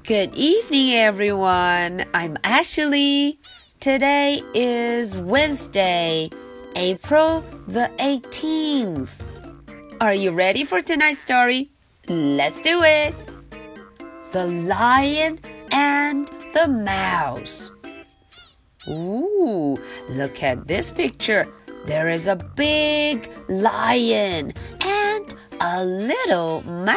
Good evening, everyone. I'm Ashley. Today is Wednesday, April the 18th. Are you ready for tonight's story? Let's do it. The Lion and the Mouse. Ooh, look at this picture. There is a big lion and a little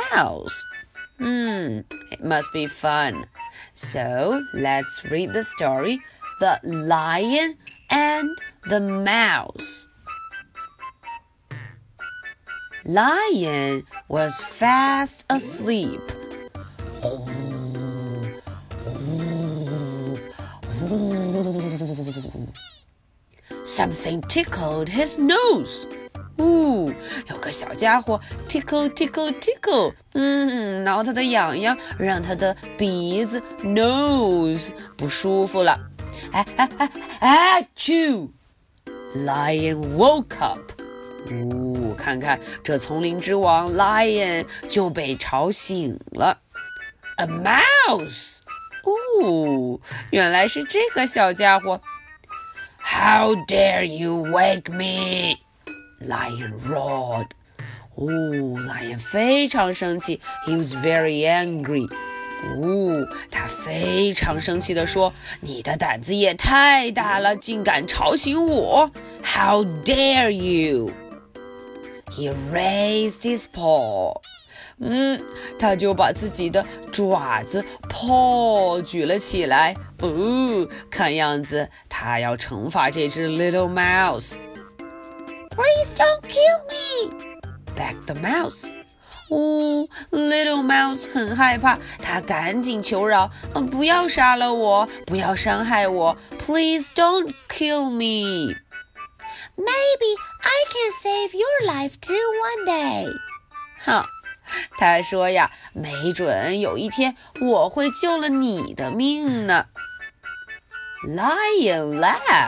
mouse.It must be fun. So let's read the story, The Lion and the Mouse. Lion was fast asleep. Something tickled his nose.有个小家伙 tickle tickle tickle 挠他的痒痒，让他的鼻子 nose 不舒服了。Achoo! Lion woke up. 看看这丛林之王 Lion 就被吵醒了。A mouse! 原来是这个小家伙。How dare you wake me?Lion roared. Lion 非常生气 He was very angry. 他非常生气地说，你的胆子也太大了，竟敢吵醒我 How dare you? He raised his paw. 他就把自己的爪子 paw 举了起来。看样子他要惩罚这只 little mouse.Please don't kill me, begged the mouse. Little mouse 很害怕，他赶紧求饶，不要杀了我，不要伤害我 Please don't kill me. Maybe I can save your life too one day. 他说呀，没准有一天我会救了你的命呢。Lion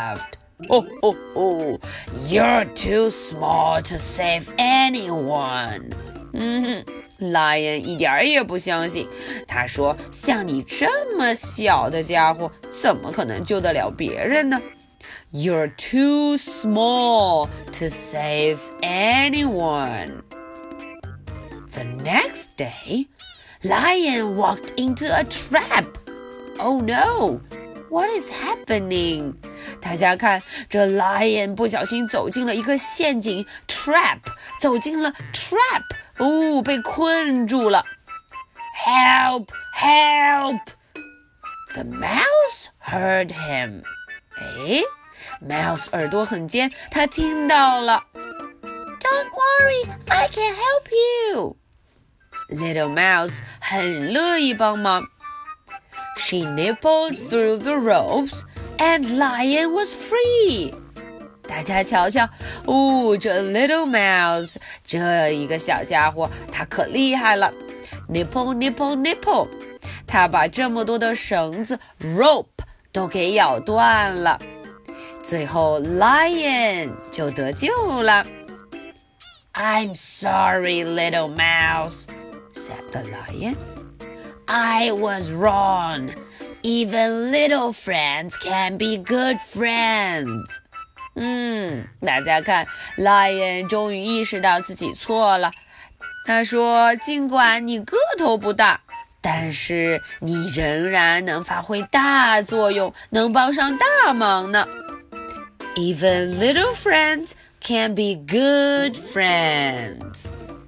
laughed.You're too small to save anyone. Lion 一点也不相信，他说，像你这么小的家伙，怎么可能救得了别人呢？ You're too small to save anyone. The next day, Lion walked into a trap. Oh no!What is happening? 大家看，这 Lion 不小心走进了一个陷阱 trap 走进了 trap 被困住了 Help! Help! The mouse heard him. Mouse 耳朵很尖，他听到了 Don't worry, I can help you. Little mouse 很乐意帮忙She nibbled through the ropes, and Lion was free. 大家瞧瞧，这 little mouse 这一个小家伙，他可厉害了。Nibble, nibble, nibble. 他把这么多的绳子 rope 都给咬断了。最后 Lion 就得救了。I'm sorry, little mouse, said the lion.I was wrong. Even little friends can be good friends. 大家看 Lion 终于意识到自己错了。他说，尽管你个头不大，但是你仍然能发挥大作用，能帮上大忙呢。Even little friends can be good friends.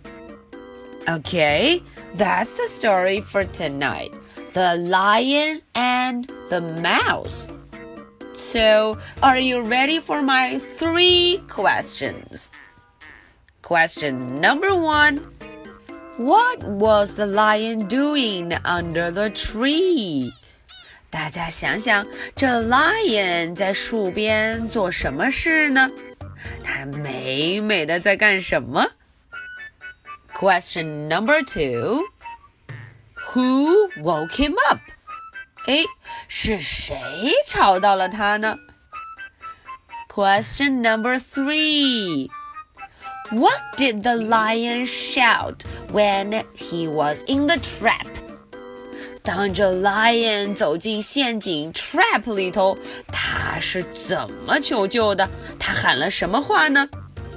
Okay.That's the story for tonight. The Lion and the Mouse. So, are you ready for my 3 questions? Question number 1. What was the lion doing under the tree? 大家想想，这 Lion 在树边做什么事呢？他美美的在干什么？Question number 2. Who woke him up? 是谁吵到了他呢？ Question number 3. What did the lion shout when he was in the trap? 当着 Lion 走进陷阱 trap 里头，他是怎么求救的？他喊了什么话呢？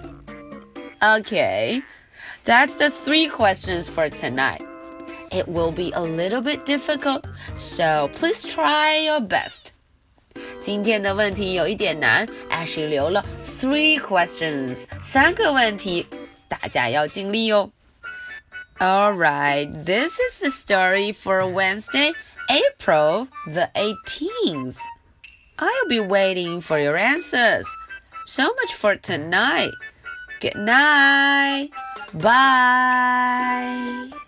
Okay, that's the 3 questions for tonight. It will be a little bit difficult, so please try your best. 今天的问题有一点难 Ashley 留了3 questions 3个问题，大家要尽力哦。Alright, this is the story for Wednesday, April the 18th. I'll be waiting for your answers. So much for tonight. Good night. Bye.